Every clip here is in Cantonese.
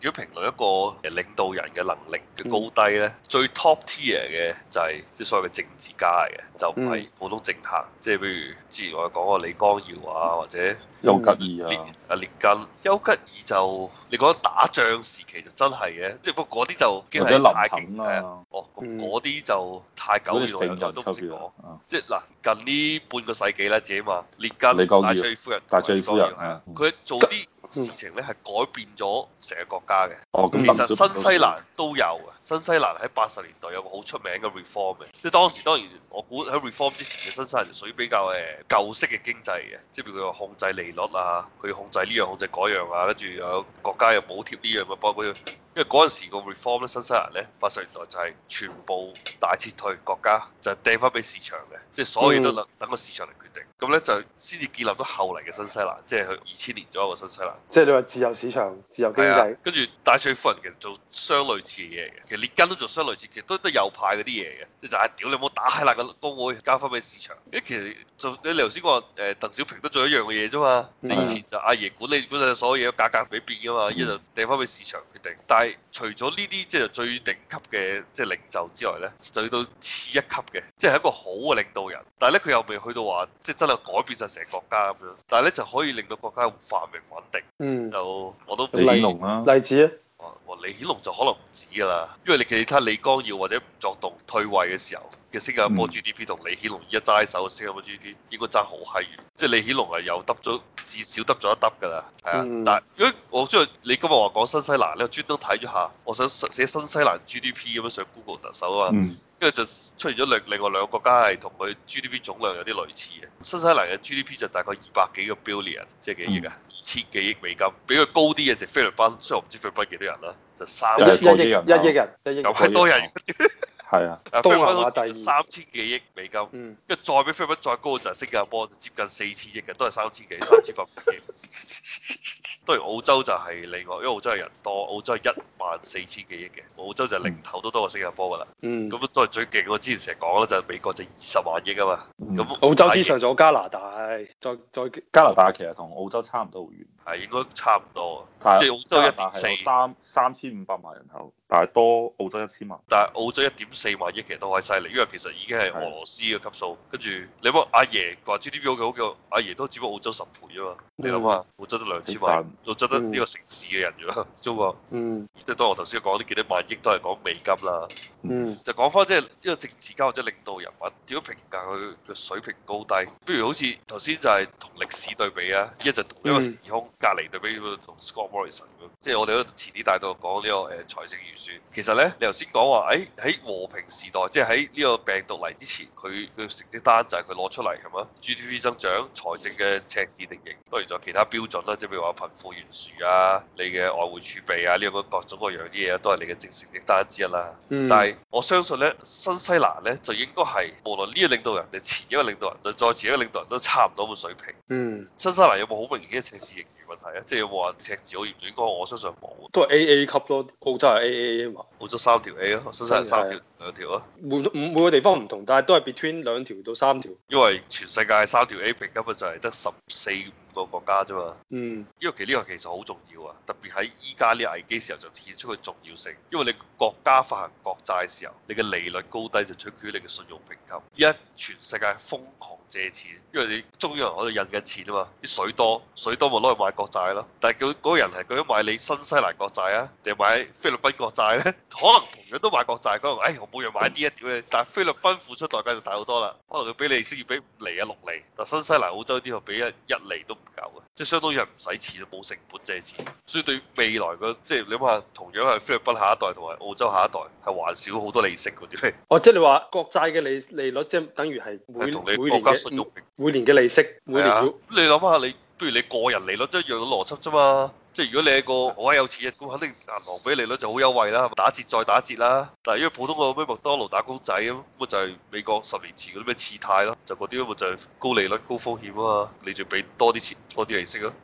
如果評論一個領導人嘅能力嘅高低咧，最 top tier 嘅就係即係所謂嘅政治家嚟嘅，就唔係普通政客。即係譬如之前我哋講過李光耀啊，或者丘吉爾啊、 列根、丘吉爾就你講打仗時期就真係嘅，即係不過嗰啲就已經係太勁係啊。哦，咁嗰啲就太久遠啦，我都唔識講。即係嗱，近呢半個世紀咧，自己話列根、戴卓爾夫人、 戴卓爾夫人係啊， 佢做啲事情咧係改變咗成個國家嘅。其實新西蘭都有嘅，新西蘭喺80年代有個好出名嘅 reform 嘅，即係當時當然我估喺 reform 之前嘅新西蘭就屬於比較舊式嘅經濟嘅，即係譬如佢控制利率啊，佢要控制呢樣控制嗰樣啊，跟住有國家又補貼呢樣啊，包括因為嗰陣時個 reform 咧，新西蘭咧80年代就係全部大撤退國家，就掟翻俾市場嘅，即係所有嘢都等個市場嚟決定，咁咧就先至建立咗後嚟嘅新西蘭，即係佢2000年左右嘅新西蘭。 即係你話自由市場、自由經濟。 跟住戴卓爾夫人其實做相類似嘅嘢嘅，其實列根都做相類似，其實都右派嗰啲嘢嘅，即係就係屌你冇打閪爛個工會，交翻俾市場。其實就你頭先講鄧小平都做一樣嘅嘢啫嘛，即係以前就阿爺管理本身所有嘢都價格未變噶嘛，依家就掟翻俾市場決定。但係除咗呢啲即係最頂級嘅即係領袖之外咧，就去到次一級嘅，即係一個好嘅領導人，但係咧佢又未去到話即係真係改變晒成個國家咁樣，但係咧就可以令到國家繁榮穩定。就我都李顯龍啦， 例子啊。 李顯龍就可能唔止㗎啦，因為你睇李光耀或者吳作棟退位嘅時候嘅新加坡 GDP 同李顯龍一揸手嘅新加坡 GDP 應該爭好閪遠，即係李顯龍係又得咗至少得咗一得㗎啦，係啊。但係如果我中意你今日話講新西蘭咧，我專登睇咗下，我想寫新西蘭 GDP 咁樣上 Google 特首啊嘛，跟住就出現咗另外兩個國家係同佢 GDP 總量有啲類似嘅，新西蘭嘅 GDP 就大概200幾個 billion， 即係幾億啊，2000幾億美金，比佢高啲嘅就菲律賓，雖然我唔知菲律賓幾多人啦，就3億人， 1億人， 咁係多人。 係啊， 菲律賓好似3000幾億美金，跟住再比菲律賓再高就係新加坡，接近4000億嘅，都係3000幾、3800億。當然澳洲就係另外，因為澳洲係人多，澳洲係14000幾億嘅，澳洲就係零頭都多過新加坡㗎啦。咁都係最勁。我之前成日講啦，就係美國就20萬億啊嘛。咁澳洲之上仲有加拿大，再加拿大其實同澳洲差唔多好遠， 係應該差唔多。 即係澳洲1.4， 3500萬人口，但係多澳洲1000萬。 但係澳洲1.4萬億其實都好犀利，因為其實已經係俄羅斯嘅級數。跟住你諗阿爺話 GDP 好嘅，阿爺都只不過澳洲10倍啊嘛。你諗下，澳洲得2000萬，澳洲得呢個城市嘅人啫，中國。即係當我頭先講啲幾多萬億都係講美金啦。就講翻即係呢個政治家或者領導人物點樣評價佢嘅水平高低？不如好似頭先就係同歷史對比啊，一就同一個時空隔離對比同 Scott Morrison 咁。即係我哋都遲啲帶到講呢個財政預算。其實咧，你頭先講話喺和平時代，即係喺呢個病毒嚟之前，佢嘅成績單就係佢攞出嚟係嘛 ？GDP 增長、財政嘅赤字定型，當然仲有其他標準啦，即係譬如話貧富懸殊啊、你嘅外匯儲備啊，呢個各種各樣啲嘢都係你嘅成績單之一啦。但係我相信咧，新西蘭咧就應該係無論呢個領導人定前一個領導人對再前一個領導人都差唔多咁水平。新西蘭有冇好明顯嘅赤字盈餘問題啊？即係有冇話赤字好嚴重？應該我相信冇。 都係 AA 級咯，澳洲係 AA 啊嘛。 澳洲3條 A 咯，新西蘭3條2條啊。 每個地方唔同，但係都係 between 2條到3條。 因為全世界3條 A 評級就係得14個國家啫嘛。因為呢個其實好重要啊，特別喺依家呢個危機時候就顯出佢重要性。因為你國家發行國債嘅時候，你嘅利率高低就取決於你嘅信用評級。依家全世界瘋狂借錢，因為你中央喺度印緊錢啊嘛，啲水多咪攞去買國債咯。但係佢嗰個人係究竟買你新西蘭國債啊，定係買菲律賓國債咧？可能同樣都買國債，佢話：我每樣買啲一屌你。但係菲律賓付出代價就大好多啦，可能佢俾利息要俾5厘啊6厘，但新西蘭、澳洲啲佢俾1厘都唔夠嘅，即係相當於係唔使錢，冇成本借錢。所以對未來嘅即係你諗下，同樣係菲律賓下一代同埋澳洲下一代係還少好多利息嗰啲。 即係你話國債嘅利率即係等於係每年嘅利息，每年。 你諗下你，不如你個人利率都一樣嘅邏輯啫嘛。即係如果你係個好閪有錢嘅，咁肯定銀行俾利率就好優惠啦，打折再打折啦。但係因為普通個咩麥當勞打工仔咁，咪就係美國10年前嗰啲咩次貸咯，就嗰啲咪就係高利率高風險啊嘛，你就俾多啲錢多啲利息咯。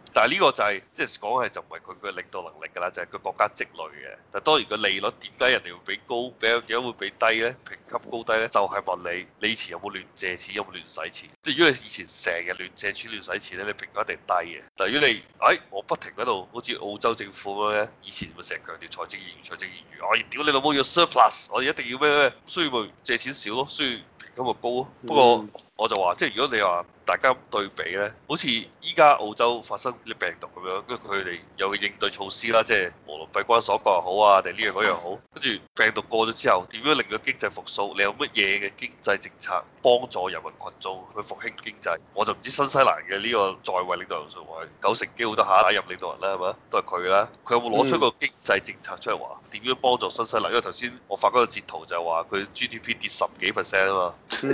但係呢個就係即係講係就唔係佢嘅領導能力㗎啦，就係佢國家積累嘅。但係當然個利率點解人哋會比高，點解會比低咧？評級高低咧，就係問你以前有冇亂借錢，有冇亂使錢？即係如果你以前成日亂借錢亂使錢咧，你評級一定低嘅。但係如果你我不停喺度，好似澳洲政府咁樣，以前咪成日強調財政盈餘、財政盈餘，我屌你老母要 surplus，我哋一定要咩，所以咪借錢少咯，所以評級咪高咯。不過我就話，即係如果你話大家對比咧，好似依家澳洲發生啲病毒咁樣，跟住佢哋有個應對措施啦，即係無論閉關鎖國又好啊，定呢樣嗰樣好，跟住病毒過咗之後，點樣令到經濟復甦？你有乜嘢嘅經濟政策幫助人民群眾去復興經濟？我就唔知新西蘭嘅呢個在位領導人數話90%機會都下一任領導人啦，係咪？都係佢啦。佢有冇攞出個經濟政策出嚟話點樣幫助新西蘭？因為頭先我發嗰個截圖就係話佢 GDP 跌10幾%啊嘛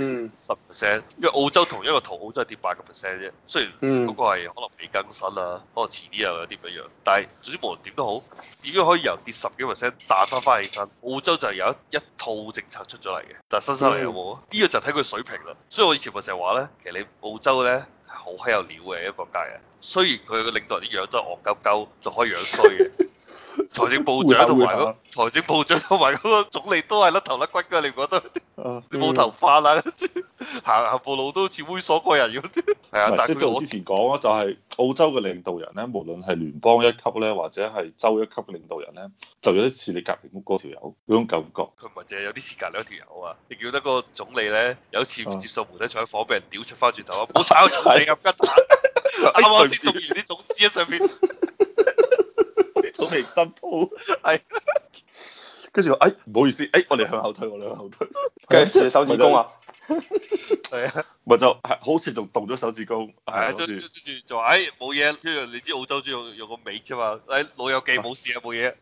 ，10%。因為澳洲同一個圖，澳洲係跌8%啫。雖然嗰個係可能未更新啊，可能遲啲又有啲唔一樣。但係總之無論點都好，點樣可以由跌10幾%彈翻起身？澳洲就係有一套政策出咗嚟嘅，但係新西蘭有冇？呢個就睇佢水平啦。所以我以前咪成日話咧，其實你澳洲咧係好閪有料嘅一個國家嘅。雖然佢個領導人啲樣都係戇鳩鳩，就可以樣衰嘅。財政部長同埋財政部長同埋嗰個總理都係甩頭甩骨㗎，你唔覺得？你冇頭髮啦，行步路都好似猥瑣過人咁。係啊，但係即係我之前講咯，就係澳洲嘅領導人咧，無論係聯邦一級咧，或者係州一級嘅領導人咧，就有啲似你隔離屋嗰條友嗰種感覺。 佢唔係淨係有啲似隔離嗰條友啊！你叫得個總理咧，有一次接受媒體採訪，俾人屌出翻轉頭啊！唔好炒總理咁吉殘，啱啱先種完啲種子喺上邊。 好明心痛， 係， 跟住唔好意思，我哋向後退， 跟住手指公啊， 係啊， 咪就係好似仲動咗手指公， 係跟住就話冇嘢，跟住你知澳洲中意用個尾啫嘛，老友記冇事啊，冇嘢。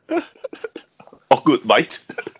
good mate。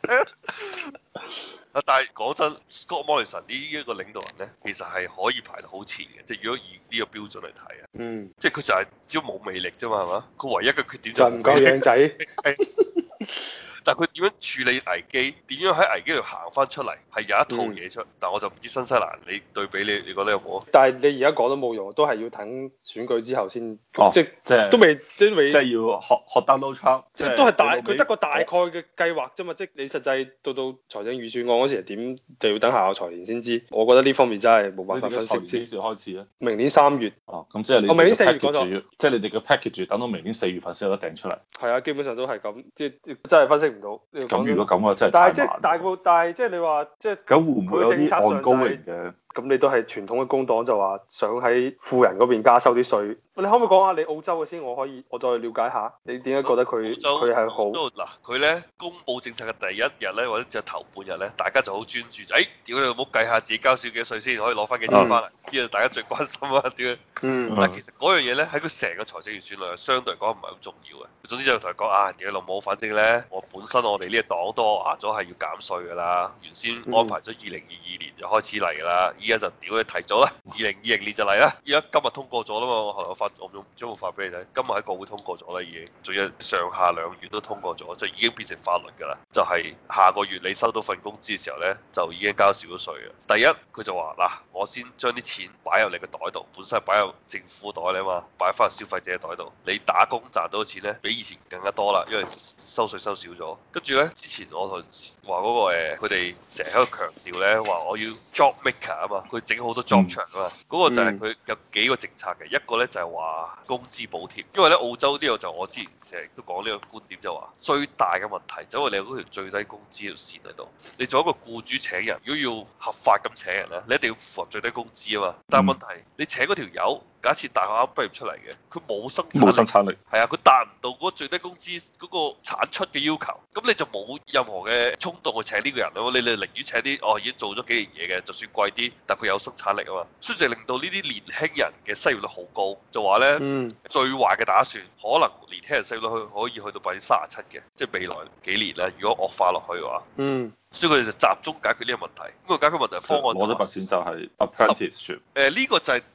但係講真 ，Scott Morrison 呢一個領導人咧，其實係可以排到好前嘅，即係如果以呢個標準嚟睇啊，即係佢就係只要冇魅力啫嘛，係嘛？佢唯一嘅缺點就唔夠靚仔。 但係佢點樣處理危機，點樣喺危機度行翻出嚟，係有一套嘢出。但係我就唔知新西蘭，你對比你覺得有冇？ 但係你而家講都冇用，都係要等選舉之後先，即係都未，即係要學 Donald Trump， 即係都係佢得個大概嘅計劃啫嘛。即係你實際到財政預算案嗰時係點，就要等下個財年先知。我覺得呢方面真係冇辦法分析。 幾時開始咧？ 明年3月。 咁即係你明年4月嗰度， 即係你哋嘅 package 等到明年4月份先有得訂出嚟。係啊，基本上都係咁，即係真係分析唔到。 咁如果咁啊，真係但係即係你話即係咁會唔會有啲按高榮嘅？ 咁你都係傳統嘅工黨就話想喺富人嗰邊加收啲稅。你可唔可以講下你澳洲嘅先？我再了解下，你點解覺得佢係好？ 嗱，佢咧公佈政策嘅第一日咧，或者就頭半日咧，大家就好專注，屌你老母計下自己交少幾稅先，可以攞翻幾錢翻嚟，呢個大家最關心啊，屌！但係其實嗰樣嘢咧喺佢成個財政預算量相對嚟講唔係好重要嘅。總之就同佢講屌你老母，反正咧我哋呢個黨都話咗係要減稅㗎啦，原先安排咗2022年就開始嚟㗎啦，依家就屌你提早啦，2020年就嚟啦，依家今日通過咗啦嘛，我用將會發俾你睇，今日喺國會通過咗啦已經，仲有上下兩院都通過咗，就已經變成法律㗎啦。就係下個月你收到份工資嘅時候咧，就已經交少咗稅嘅。第一佢就話我先將啲錢擺入你個袋度，本身係擺入政府袋咧嘛，擺翻入消費者嘅袋度。你打工賺到嘅錢咧，比以前更加多啦，因為收稅收少咗。跟住咧，之前我同話嗰個佢哋成日喺度強調咧，話我要 job maker 啊嘛，佢整好多 job 場啊嘛，嗰個就係佢有幾個政策嘅，一個咧就係話工資補貼，因為咧澳洲呢個就我之前成日都講呢個觀點就話最大嘅問題就係你有嗰條最低工資條線喺度，你做一個僱主請人，如果要合法咁請人咧，你一定要符合最低工資啊嘛，但係問題你請嗰條友。假設大學啱畢業出嚟嘅，佢冇生產力，係啊，佢達唔到嗰個最低工資嗰個產出嘅要求，咁你就冇任何嘅衝動去請呢個人咯。你寧願請啲已經做咗幾年嘢嘅，就算貴啲，但佢有生產力啊嘛。所以就令到呢啲年輕人嘅失業率好高，就話咧最壞嘅打算，可能年輕人失業率可以去到37%嘅，即係未來幾年咧，如果惡化落去嘅話。所以佢哋就集中解決呢個問題。咁個解決問題方案， 我覺得白錢就係 apprenticeship。 呢個就係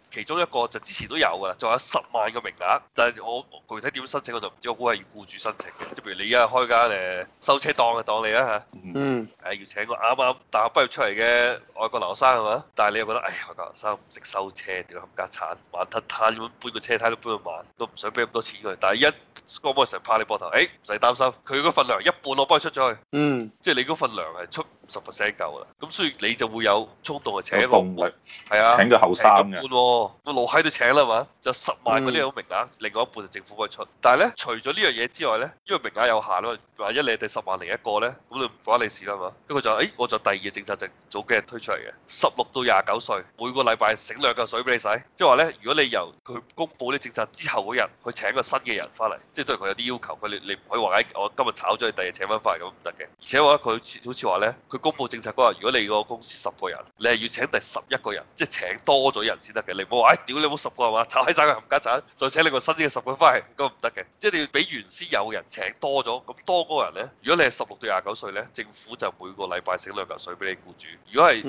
其中一個就之前都有㗎，仲有10萬個名額，但係我具體點申請我就唔知，我估係要僱主申請嘅。即係譬如你而家開間收車檔嘅當你啦嚇，要請個啱啱大學畢業出嚟嘅外國留學生係嘛？但係你又覺得，外國留學生唔識收車，屌冚家鏟，慢吞吞咁搬個車胎都搬到慢，都唔想俾咁多錢佢。但係一嗰個成日拍你膊頭，唔使擔心，佢嗰份糧一半我幫佢出咗去，即係你嗰份糧係出50% 夠啦。咁所以你就會有衝動去請一個動力，係啊， 請個後生嘅， 個老閪都請啦嘛，就10萬嗰啲有名額，另外一半就政府幫佢出。但係咧，除咗呢樣嘢之外咧，因為名額有限啊嘛，萬一你係第10萬零一個咧，咁就唔關你事啦嘛。跟住佢就我就第二個政策就早幾日推出嚟嘅，16到29歲每個禮拜醒2嚿水俾你使，即係話咧，如果你由佢公佈呢政策之後嗰日去請個新嘅人翻嚟，即係都係佢有啲要求，你唔可以話我今日炒咗你，第二日請翻翻嚟咁唔得嘅。而且話佢好似話咧，佢公佈政策嗰日，如果你個公司10個人，你係要請第11個人，即係請多咗人先得嘅。你唔好話屌你冇10個係嘛，炒閪晒佢冚家鏟，再請你個新嘅10個翻嚟，咁唔得嘅。即係你要比原先有人請多咗，咁多嗰個人咧，如果你係16到29歲咧，政府就每個禮拜醒2嚿水俾你僱主；如果係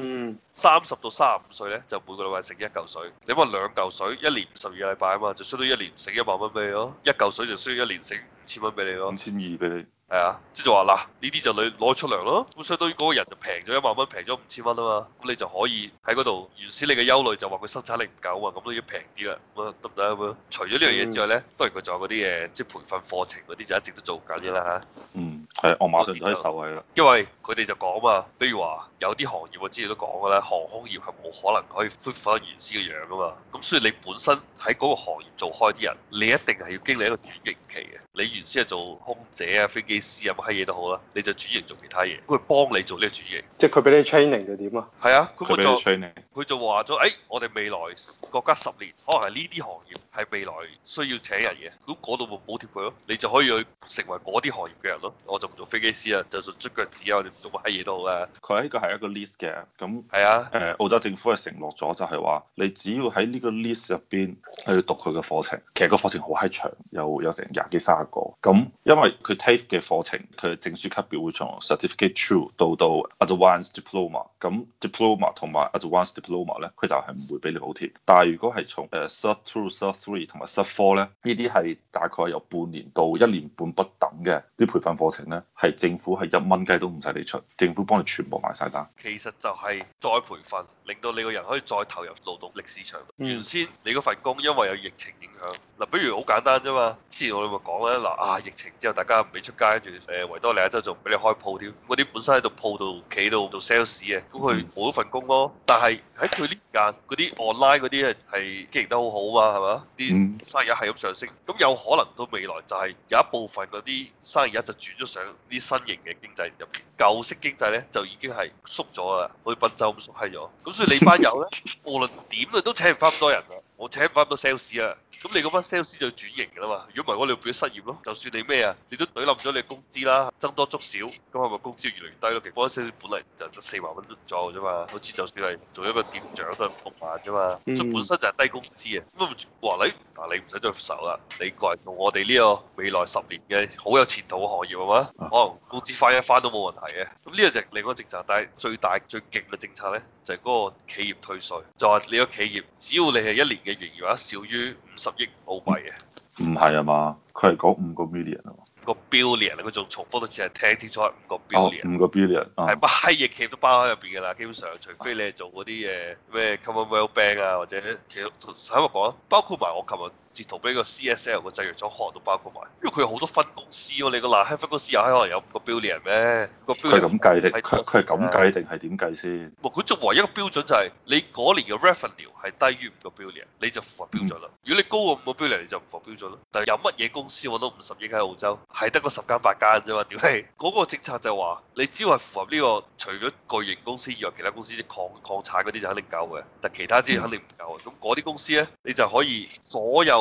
30到35歲咧，就每個禮拜醒1嚿水。你話2嚿水，一年52個禮拜啊嘛，就相當於一年醒1萬蚊俾你咯。1嚿水就需要一年醒5000蚊俾你咯 5200俾你。 係啊，即係就話嗱，呢啲就你攞出糧咯，咁相當於嗰個人就平咗1萬蚊，平咗5000蚊啊嘛，咁你就可以喺嗰度，原先你嘅憂慮就話佢生產力唔夠啊嘛，咁都要平啲啦，咁啊得唔得咁樣？除咗呢樣嘢之外咧，當然佢仲有嗰啲嘢，即係培訓課程嗰啲就一直都做緊嘅啦嚇。 係，我馬上就可以受惠啦。 因為佢哋就講嘛，比如話有啲行業我之前都講嘅啦，航空業係冇可能可以恢復翻原先嘅樣噶嘛，咁所以你本身喺嗰個行業做開啲人，你一定係要經歷一個轉型期嘅。你原先係做空姐啊、飛機師啊乜閪嘢都好啦，你就轉型做其他嘢，佢幫你做呢個轉型。 即係佢俾你 training 就點啊？ 係啊，佢佢就話咗，我哋未來國家10年可能係呢啲行業係未來需要請人嘅，咁嗰度咪補貼佢咯，你就可以去成為嗰啲行業嘅人咯。我就唔做飛機師啊，就做捽腳趾啊，或者做乜閪嘢都好啦。 佢呢個係一個 list 嘅，咁係啊， 澳洲政府係承諾咗，就係話你只要喺呢個 list 入邊去讀佢嘅課程，其實個課程好閪長，有成20幾30個。咁因為佢 TAFE 嘅課程，佢嘅證書級別會從 Certificate True 到 Advanced Diploma，咁 Diploma 同埋 Advanced Diploma 咧，佢就係唔會俾你補貼。但係如果係從Cert 2、Cert 3同埋 Cert 4咧，呢啲係大概由半年到1年半不等嘅啲培訓課程咧，係政府係1蚊雞都唔使你出，政府幫你全部埋晒單。 其實就係再培訓，令到你個人可以再投入勞動力市場。原先你嗰份工因為有疫情影響，嗱，比如好簡單啫嘛。之前我哋咪講咧，疫情之後大家唔俾出街，跟住維多利亞州仲唔俾你開鋪添，嗰啲本身喺度鋪度企度做 sales 嘅，咁佢冇咗份工咯。但係喺佢呢間嗰啲 online 嗰啲係經營得好好嘛，係嘛？啲生意係咁上升，咁有可能到未來就係有一部分嗰啲生意就轉咗上啲新型嘅經濟入邊，舊式經濟咧就已經係縮咗啦，好似賓州咁縮閪咗。咁所以你班友咧，無論點啊都請唔翻咁多人啊，我請唔翻咁多 sales 啊。咁你嗰班 sales 就要轉型㗎啦嘛，如果唔係我哋變咗失業咯。就算你咩啊，你都懟冧咗你工資啦，增多足少，咁係咪工資越嚟越低咯？其實嗰班 sales 本嚟就得4萬蚊左右啫嘛，好似就算係做一個店長都係6萬啫嘛，所以本身就係低工資啊。咁話你唔使再受啦，你過嚟做我哋呢個未來10年嘅好有前途嘅行業係嘛？可能工資翻一翻都冇問題嘅。咁呢個就係另外一個政策，但係最大最勁嘅政策咧，就係嗰個企業退稅，就話你個企業只要你係1年嘅營業額少於50億澳幣嘅， 唔係啊嘛，佢係講5個 million 啊嘛。 個 billion 佢仲重複多次係聽清楚係5個 billion， 5個 billion 係乜閪嘢企業都包喺入邊㗎啦，基本上除非你係做嗰啲咩 Commonwealth Bank 啊，或者其實喺度講，包括埋我琴日截圖俾個 CSL 個製藥廠可能都包括埋，因為佢有好多分公司喎，你個嗱閪分公司又閪可能有5個 billion 咩？個 billion 佢係咁計定佢係咁計定係點計先？ 佢做唯一一個標準就係你嗰年嘅 revenue 係低於5個 billion，你就符合標準啦。如果你高過5個 billion，你就唔符合標準咯。但係有乜嘢公司揾到50億喺澳洲？係得個10間8間啫嘛，屌你！嗰個政策就話你只要係符合呢個，除咗巨型公司以外，其他公司即礦產嗰啲就肯定夠嘅，但其他啲肯定唔夠嘅。咁嗰啲公司咧，你就可以所有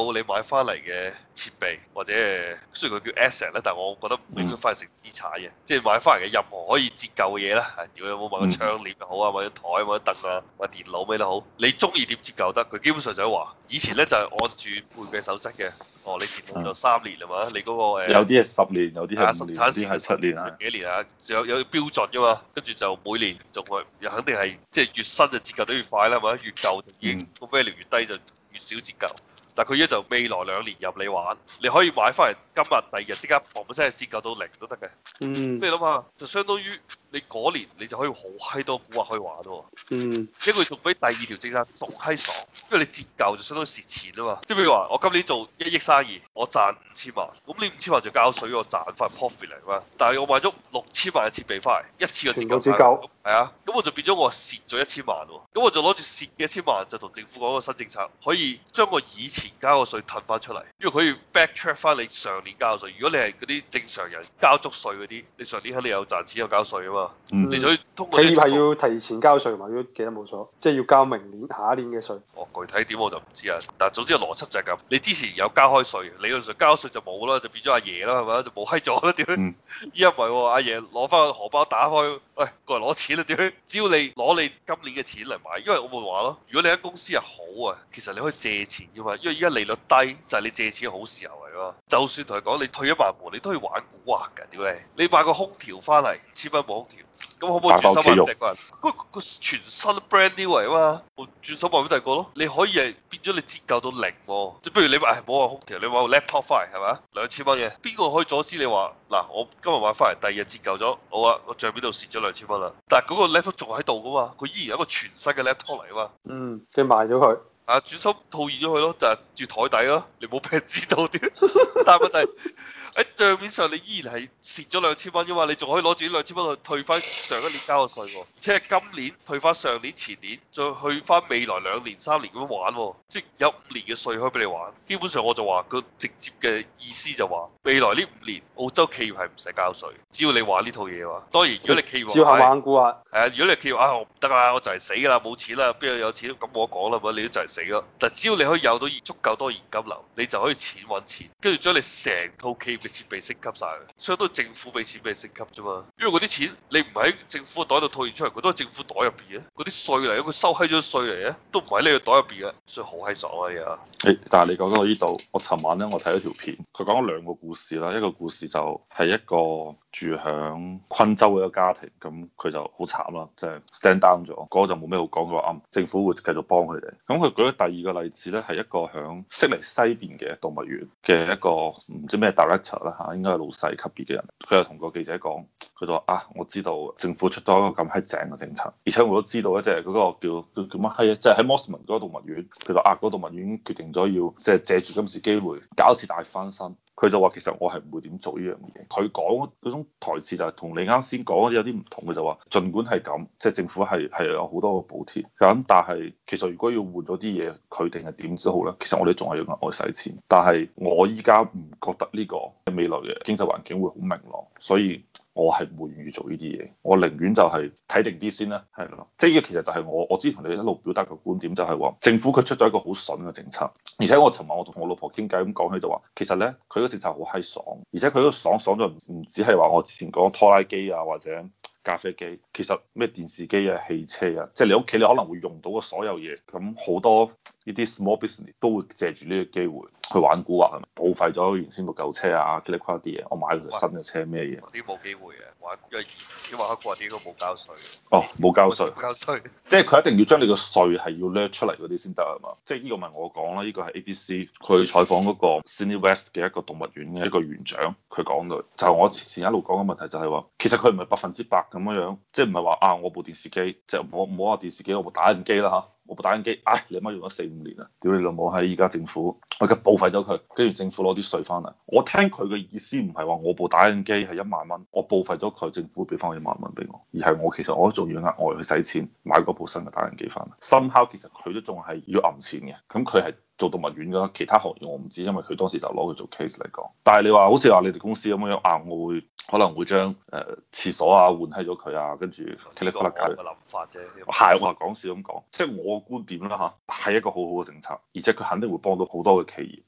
到你買翻嚟嘅設備或者雖然佢叫 asset 咧，但係我覺得唔應該翻嚟成資產嘅，即係買翻嚟嘅任何可以折舊嘅嘢啦。屌你有冇買個窗簾又好啊，買張台買張凳啊，買電腦咩都好，你中意點折舊得？佢基本上就係話，以前咧就係按住會計守則嘅。哦，你電腦就3年係嘛？你嗰個有啲係10年，有啲係5年， 生產線有啲係7年啊。 幾年啊？有標準噶嘛？跟住就每年仲係又肯定係即係越新就折舊得越快啦，係咪？越舊就已經個 value 越低就越少折舊。但係佢而家就未來2年任你玩，你可以買翻嚟今日第二日即刻嘣一聲折舊到0都得嘅。你諗下，就相當於你嗰年你就可以好閪多股可以玩喎。因為佢仲比第2條政策仲閪爽，因為你折舊就相當於蝕錢啊嘛。即係譬如話，我今年做1億生意，我賺5000萬，咁你5000萬就交稅，我賺翻 profit 嚟嘛。但係我買咗6000萬嘅設備翻嚟，一次個折舊，係啊，咁我就變咗我蝕咗1000萬喎。咁我就攞住蝕嘅1000萬就同政府講個新政策，可以將我以前交嘅稅褪翻出嚟，因為佢可以 backtrack 翻你上年交嘅稅。如果你係嗰啲正常人交足稅嗰啲，你上年肯定有賺錢有交稅啊嘛。你就可以通過企業係要提前交稅嘛？如果記得冇錯，即係要交明年下一年嘅稅。 哦，具體點我就唔知啊。但係總之個邏輯就係咁。你之前有交開稅，理論上交稅就冇啦，就變咗阿爺啦，係咪？就冇閪咗啦，點？依家唔係喎，阿爺攞翻個荷包打開，喂，過嚟攞錢啦，點？只要你攞你今年嘅錢嚟買，因為我咪話咯，如果你間公司係好啊，其實你可以借錢㗎嘛，因為依家利率低就係你借錢嘅好時候嚟㗎嘛。就算同佢講你退1萬步，你都可以玩蠱惑㗎，屌你！你買個空調翻嚟，1000蚊部空調。咁可唔可以轉手賣俾第個人？個全新 brand new 嚟啊嘛，我轉手賣俾第二個咯。你可以係變咗你折舊到0喎，即係不如你買冇話空調，你買個 laptop 翻嚟係咪？2000蚊嘅，邊個可以阻止你話嗱？我今日買翻嚟，第二日折舊咗，好啊，我帳面度蝕咗2000蚊啦。但係嗰個 laptop 仲喺度噶嘛，佢依然有一個全新嘅 laptop 嚟啊嘛。 即係賣咗佢。 啊，轉手套現咗佢咯，就係住台底咯，你冇俾人知道啲。但係問題喺帳面上你依然係蝕咗2000蚊噶嘛，你仲可以攞住啲2000蚊去退翻上一年交嘅稅喎，而且係今年退翻上年前年，再去翻未來2年3年咁樣玩喎，即係有5年嘅稅可以俾你玩。基本上我就話個直接嘅意思就話，未來呢5年澳洲企業係唔使交稅，只要你玩呢套嘢嘅話。當然如果你企業照下玩股啊， 係啊，如果你企業啊我唔得啊，我就係死㗎啦，冇錢啦，邊度有錢咁我講啦，咪你都就係死咯。但只要你可以有到足夠多現金流，你就可以錢揾錢，跟住將你成套企業嘅設備升級晒，相當於政府俾錢俾你升級啫嘛。因為嗰啲錢你唔喺政府嘅袋度套現出嚟，佢都係政府袋入邊嘅，嗰啲稅嚟，佢收閪咗稅嚟嘅，都唔喺你個袋入邊嘅，所以好閪爽啊嘢。 但係你講到呢度，我尋晚咧我睇咗條片，佢講咗2個故事啦。一個故事就係一個住響昆州嘅一個家庭，咁佢就好慘啦，即係 stand down 咗，嗰個就冇咩好講，佢話政府會繼續幫佢哋。咁佢舉咗第2個例子咧，係一個響悉尼西邊嘅動物園嘅一個唔知咩 director 啦嚇，應該係老細級別嘅人，佢又同個記者講，佢就話啊，我知道政府出咗一個咁閪正嘅政策，而且我都知道咧，即係嗰個叫乜閪啊，即係喺 Mosman 嗰個動物園，佢就嗰個動物園決定咗要即係借住今次機會搞一次大翻身。佢就話其實我係唔會點做呢樣嘢。佢講嗰種台詞就係同你啱先講有啲唔同。佢就話，儘管係咁，即係政府係有好多個補貼咁，但係其實如果要換咗啲嘢，佢定係點都好咧，其實我哋仲係要額外使錢。但係我依家唔覺得呢個未來嘅經濟環境會好明朗，所以我係唔會願意做呢啲嘢。我寧願就係睇定啲先啦，係咯。即係呢個其實就係我之前同你一路表達嘅觀點，就係話政府佢出咗一個好筍嘅政策，而且我尋晚我同我老婆傾偈咁講起就話，其實咧佢個政策好閪爽，而且佢嗰個爽咗唔止係話我之前講拖拉機啊或者咖啡機，其實咩電視機啊、汽車啊，即係你屋企你可能會用到嘅所有嘢，咁好多呢啲 small business 都會借住呢個機會去玩蠱惑，報廢咗原先部舊車啊、嘰里呱啲嘢，我買佢新嘅車咩嘢？ 嗰啲冇機會嘅，因為啲玩蠱惑啲應該冇交稅。 哦，冇交稅， 冇交稅， 即係佢一定要將你個稅係要掠出嚟嗰啲先得係嘛？即係呢個唔係我講啦，呢個係 ABC 佢採訪嗰個 Sydney West 嘅一個動物園嘅一個園長，佢講到就係我前一路講嘅問題就係話，其實佢唔係100%咁樣，即係唔係話啊我部電視機，即係唔好話電視機，我部打印機啦嚇。我部打印機，你媽用咗4-5年啦，屌你老母喺依家政府，我而家報廢咗佢，跟住政府攞啲稅翻嚟。我聽佢嘅意思唔係話我部打印機係1萬蚊，我報廢咗佢，政府俾翻我1萬蚊俾我，而係我其實我仲要額外去使錢買嗰部新嘅打印機翻嚟。somehow其實佢都仲係要揞錢嘅，咁佢係做動物園㗎，其他行業我唔知，因為佢當時就攞佢做 case 嚟講。但係你話好似話你哋公司咁樣啊，我會可能會將廁所啊換閪咗佢啊，跟住呢個我嘅諗法啫。 係我係講笑咁講，即係我嘅觀點啦嚇，係一個好好嘅政策，而且佢肯定會幫到好多嘅企業。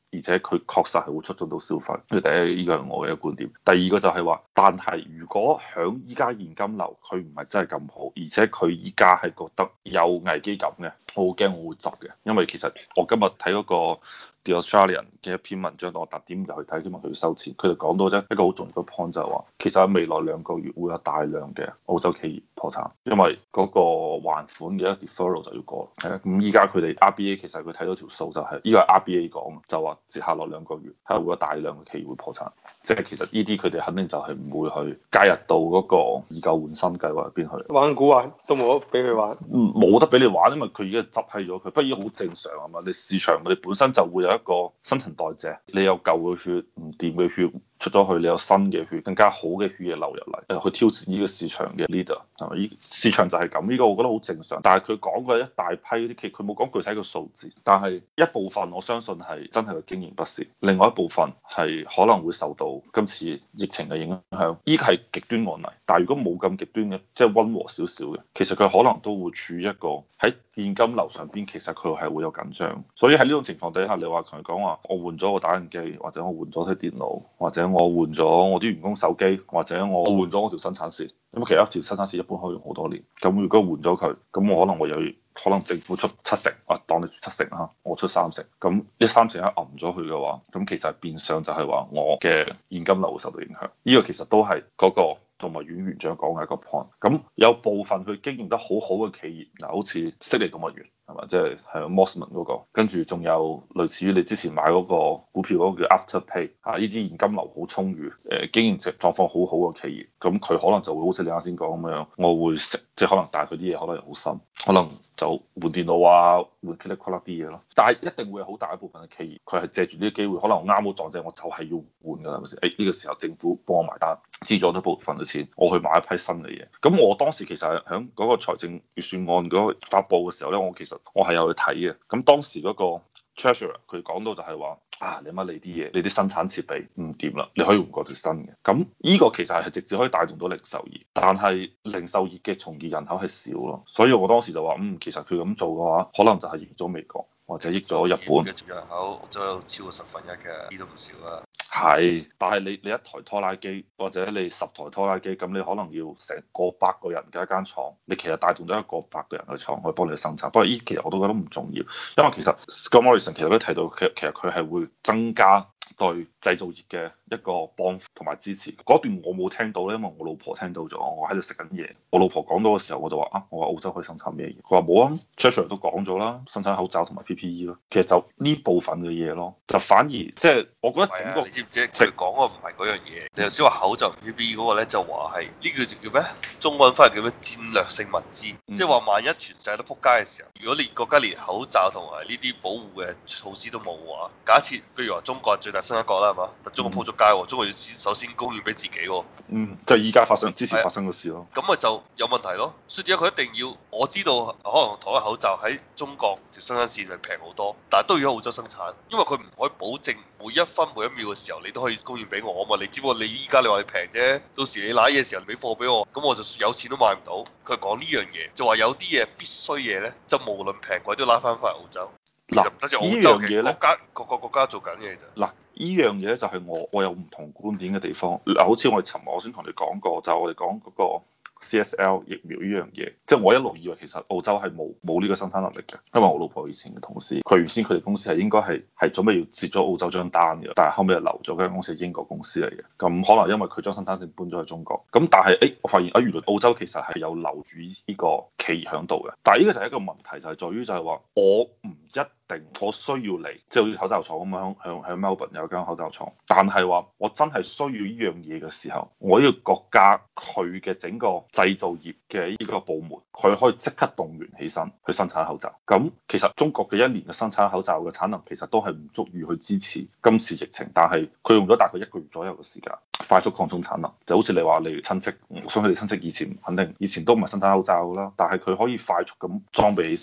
而且佢確實係會促進到消費。呢個第一，呢個係我嘅一個觀點。第二個就係話，但係如果響依家現金流佢唔係真係咁好，而且佢依家係覺得有危機感嘅，我好驚我會執嘅。因為其實我今日睇嗰個 The Australian 嘅一篇文章，我特點入去睇，希望佢要收錢。佢就講到一個好重要嘅 point 就係話，其實喺未來2個月會有大量嘅澳洲企業破產，因為嗰個還款嘅一個 deferral 就要過。係啊，咁依家佢哋 RBA 其實佢睇到條數就係，呢個係 RBA 講，就話接下來2個月係會有大量嘅企業會破產。即係其實呢啲佢哋肯定就係唔會去加入到嗰個以舊換新計劃入邊去。 玩股啊，都冇得俾佢玩。 冇得俾你玩，因為佢已經執閪咗佢。不過依個好正常啊嘛，你市場佢哋本身就會有一個新陳代謝，你有舊嘅血唔掂嘅血出咗去，你有新嘅血更加好嘅血液流入嚟，去挑戰呢個市場嘅 leader 係咪？依市場就係咁，呢個我覺得好正常。但係佢講嘅一大批啲企業，佢冇講具體嘅數字，但係一部分我相信係真係個經營不善，另外一部分係可能會受到今次疫情嘅影響。依個係極端案例，但係如果冇咁極端嘅，即係溫和少少嘅，其實佢可能都會處於一個喺現金流上邊，其實佢係會有緊張。所以喺呢種情況底下，你話同佢講話，我換咗個打印機，或者我換咗台電腦，或者我換咗我啲員工手機，或者我換咗我條生產線。咁其實一條生產線一般可以用好多年。咁如果換咗佢，咁我可能會有可能政府出70%，當你出70%啦，我出30%。咁呢30%一揞咗佢嘅話，咁其實變相就係話我嘅現金流會受到影響。呢個其實都係嗰個同埋阮園長講嘅一個 point。咁有部分佢經營得好好嘅企業，嗱好似悉尼動物園係嘛，即係Mosman 嗰個，跟住仲有類似於你之前買嗰個股票嗰個叫 Afterpay 啊，呢啲現金流好充裕，經營狀況好好嘅企業，咁佢可能就會好似你啱先講咁樣，我會食，即係可能但係佢啲嘢可能又好新，可能就換電腦啊，換 click click 啲嘢咯。但係一定會有好大一部分嘅企業，佢係借住呢啲機會，可能啱好撞正，我就係要換㗎啦，係咪先？呢個時候政府幫我埋單，資助咗部分嘅錢，我去買一批新嘅嘢。咁我當時其實係喺嗰個財政預算案嗰個發布嘅時候咧，我係有去睇嘅。咁當時嗰個 Treasurer 佢講到就係話啊，你乜你啲嘢，你啲生產設備唔掂啦，你可以換過條新嘅。咁呢個其實係直接可以帶動到零售業，但係零售業嘅從業人口係少咯，所以我當時就話其實佢咁做嘅話，可能就係益咗美國或者益咗日本。 嘅從業人口都有超過1/10嘅，呢都唔少啊。 係，但係你一台拖拉機或者你10台拖拉機，咁你可能要成過百個人嘅一間廠，你其實帶動咗一個100個人嘅廠去幫你生產。不過依其實我都覺得唔重要，因為其實 Scott Morrison 其實都提到，其實佢係會增加對製造業嘅一個幫同埋支持。嗰段我冇聽到咧，因為我老婆聽到咗，我喺度食緊嘢。我老婆講到嘅時候，我就話我話澳洲可以生產咩嘢？佢話冇啊 Treasurer 都講咗啦，生產口罩同埋 PPE 咯。其實就呢部分嘅嘢咯，就反而即係我覺得整個你知唔知佢講嗰個唔係嗰樣嘢？你頭先話口罩 PPE 嗰個咧，就話係呢個叫咩？中文翻嚟叫咩？戰略性物資，即係話萬一全世界都撲街嘅時候，如果你國家連口罩同埋呢啲保護嘅措施都冇嘅話，假設譬如話中國係最大生產國啦，係嘛？但中國撲咗街，中國要首先供應俾自己。 就依家之前發生嘅事咯。 咁咪就有問題咯。所以點解佢一定要？我知道可能同一口罩喺中國條生產線係平好多，但係都要喺澳洲生產，因為佢唔可以保證每一分每一秒嘅時候你都可以供應俾我啊嘛。你只不過你依家你話你平啫，到時你攋嘢嘅時候你俾貨俾我，咁我就有錢都買唔到。佢講呢樣嘢，就話有啲嘢必須嘢咧，就無論平貴都拉翻翻嚟澳洲。嗱，呢樣嘢咧，各個國家做緊嘢啫。 嗱，呢樣嘢咧就係我有唔同觀點嘅地方。嗱，好似我哋尋日我先同你講過，就係我哋講嗰個 CSL 疫苗呢樣嘢，即係我一路以為其實澳洲係冇呢個生產能力嘅，因為我老婆以前嘅同事，佢原先佢哋公司係應該係準備要接咗澳洲張單嘅，但係後尾又留咗間公司係英國公司嚟嘅，咁可能因為佢將生產線搬咗去中國，咁但係我發現原來澳洲其實係有留住呢個企業喺度嘅，但係呢個就係一個問題，就係在於就係話我唔一定我需要嚟，即係好似口罩廠咁樣，喺 Melbourne 有間口罩廠，但係話我真係需要呢樣嘢嘅時候，我呢個國家佢嘅整個製造業嘅呢個部門，佢可以即刻動員起身去生產口罩。咁其實中國嘅一年嘅生產口罩嘅產能其實都係唔足以去支持今次疫情，但係佢用咗大概1個月左右嘅時間快速擴充產能。就好似你話你親戚，我相信你親戚以前都唔係生產口罩啦，但係佢可以快速咁裝備起身。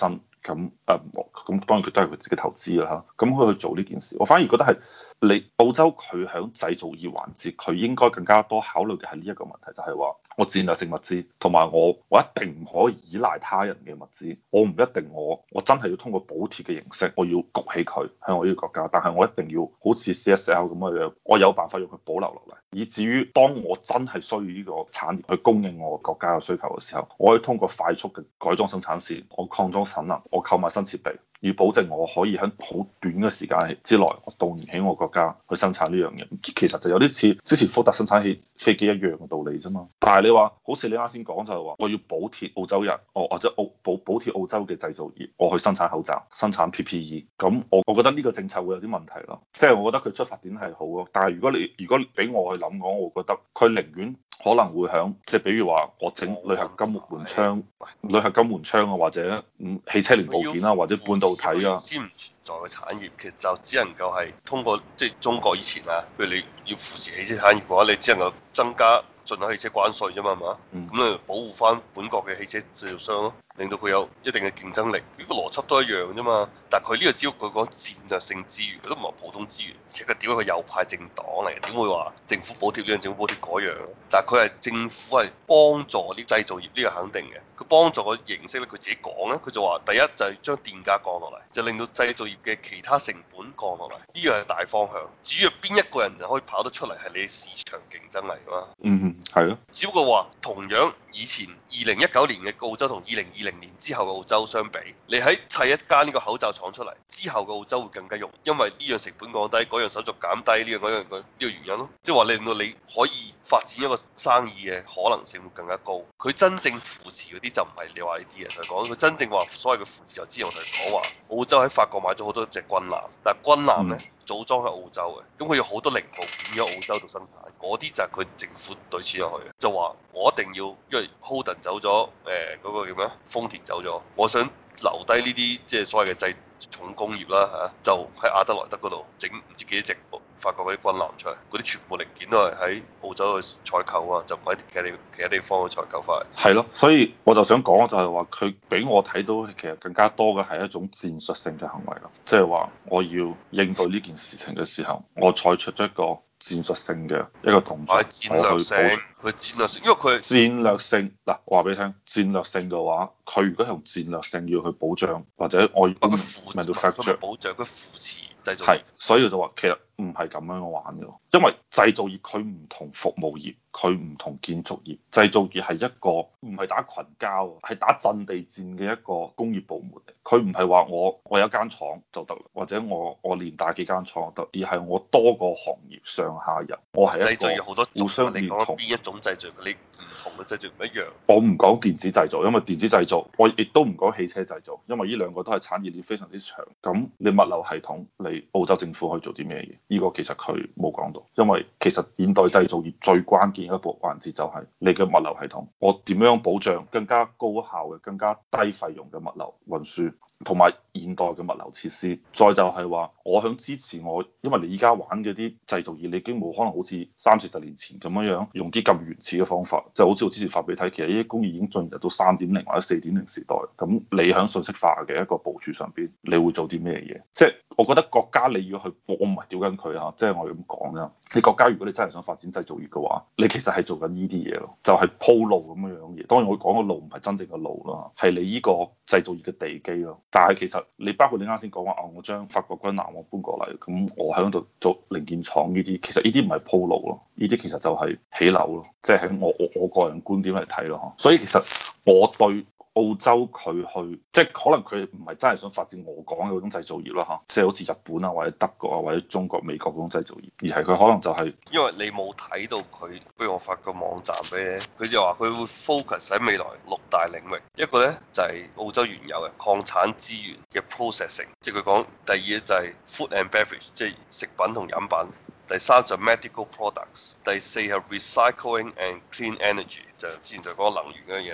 咁咁當然佢都係佢自己投資啦嚇，咁佢去做呢件事，我反而覺得係你澳洲佢喺製造業環節，佢應該更加多考慮嘅係呢一個問題，就係話我戰略性物資，同埋我一定唔可以依賴他人嘅物資，我唔一定我真係要通過補貼嘅形式，我要焗起佢喺我呢個國家，但係我一定要好似 CSL 咁嘅樣，我有辦法用佢保留落嚟，以至於當我真係需要呢個產業去供應我國家嘅需求嘅時候，我可以通過快速嘅改裝生產線，我擴裝產能，我購買新設備，以保證我可以喺好短嘅時間之內，我動員起我國家去生產呢樣嘢。其實就有啲似之前福特生產起飛機一樣嘅道理啫嘛。但係你話好似你啱先講就係話，我要補貼澳洲人，或者補貼澳洲嘅製造業，我去生產口罩、生產 PPE。咁我覺得呢個政策會有啲問題咯。即係我覺得佢出發點係好咯，但係如果俾我去諗講，我覺得佢寧願可能會響即係比如話我整鋁合金門窗、鋁合金門窗啊，或者汽車零部件啊，或者半導體啊， 先唔存在嘅產業，其實就只能夠係通過即係中國以前啊，譬如你要扶持汽車產業嘅話，你只能夠增加進口汽車關稅啫嘛，係嘛？咁你保護翻本國嘅汽車製造商咯，令到佢有一定嘅競爭力。呢個邏輯都一樣啫嘛。但係佢呢個只要佢講戰略性資源，佢都唔係普通資源，而且佢點解佢右派政黨嚟？點會話政府補貼呢樣，政府補貼嗰樣？但係佢係政府係幫助啲製造業，呢個肯定嘅。佢幫助嘅形式咧，佢自己講咧，佢就話第一就係將電價降落嚟，就令到製造業嘅其他成本降落嚟，呢個係大方向。至於邊一個人就可以跑得出嚟，係你市場競爭嚟㗎嘛。 係咯。 只不過話同樣以前2019年嘅澳洲同2020年之後嘅澳洲相比，你喺砌一間呢個口罩廠出嚟之後嘅澳洲會更加容易，因為呢樣成本降低，嗰樣手續減低，呢樣嗰樣呢個原因咯。即係話令到你可以發展一個生意嘅可能性會更加高。佢真正扶持嗰啲就唔係你話呢啲嘢，佢講佢真正話所謂嘅扶持，我之前我同你講話澳洲喺法國買咗好多隻軍艦，但係軍艦咧組裝喺澳洲嘅，咁佢有好多零部件喺澳洲度生產，嗰啲就係佢政府對錢入去嘅，就話我一定要，因為 Holden 走咗，嗰個叫咩？豐田走咗，我想留低呢啲即係所謂嘅製重工業啦嚇，就喺阿德萊德嗰度整唔知幾多隻法國嗰啲軍艦出嚟，嗰啲全部零件都係喺澳洲去採購啊，就唔喺其他地方去採購翻嚟。 係咯，所以我就想講就係話，佢俾我睇到其實更加多嘅係一種戰術性嘅行為咯，即係話我要應對呢件事情嘅時候，我採取咗一個戰術性嘅一個動作， 戰略性，佢戰略性，因為佢戰略性嗱，我話俾你聽，戰略性嘅話，佢如果用戰略性要去保障或者我佢保障佢扶持製造業， 係，所以我就話其實唔係咁樣玩嘅，因為製造業佢唔同服務業，佢唔同建築業，製造業係一個唔係打群交，係打陣地戰嘅一個工業部門嚟。佢唔係話我有一間廠就得，或者我連帶幾間廠就得，而係我多個行業上下游，我係一個互相連同。 邊一種製造你唔同嘅製造唔一樣。 我唔講電子製造，因為電子製造，我亦都唔講汽車製造，因為呢兩個都係產業鏈非常之長。咁你物流系統，你澳洲政府可以做啲咩嘢？呢個其實佢冇講到，因為其實現代製造業最關鍵一部環節就係你嘅物流系統，我點樣保障更加高效嘅、更加低費用嘅物流運輸，同埋現代嘅物流設施。再就係話，我響支持我，因為你依家玩嗰啲製造業，你已經冇可能好似30-40年前咁樣用啲咁原始嘅方法，就好似我之前發俾你睇，其實呢啲工業已經進入到3.0或者4.0時代。咁你響信息化嘅一個部署上邊，你會做啲咩嘢？即係我覺得國家你要去，我唔係屌緊佢啊，即係我咁講啫。你國家如果你真係想發展製造業嘅話，你其實係做緊呢啲嘢咯，就係鋪路咁樣樣嘢。當然我講嘅路唔係真正嘅路啦，係你呢個製造業嘅地基咯。但係其實你包括你啱先講話啊，我將法國軍艦我搬過嚟，咁我喺度做零件廠呢啲，其實呢啲唔係鋪路咯，呢啲其實就係起樓咯，即係喺我個人觀點嚟睇咯。所以其實我對澳洲佢去，即係可能佢唔係真係想發展我講嘅嗰種製造業啦嚇，即係好似日本啊或者德國啊或者中國美國嗰種製造業，而係佢可能就係因為你冇睇到佢，不如我發個網站俾你，佢就話佢會 focus 喺未來6大領域，一個咧就係澳洲原有嘅礦產資源嘅 processing，即係佢講第二咧就係 food and beverage，即係食品同飲品。第3就 medical products，第4係 recycling and clean energy，就之前就講能源嗰樣嘢啦。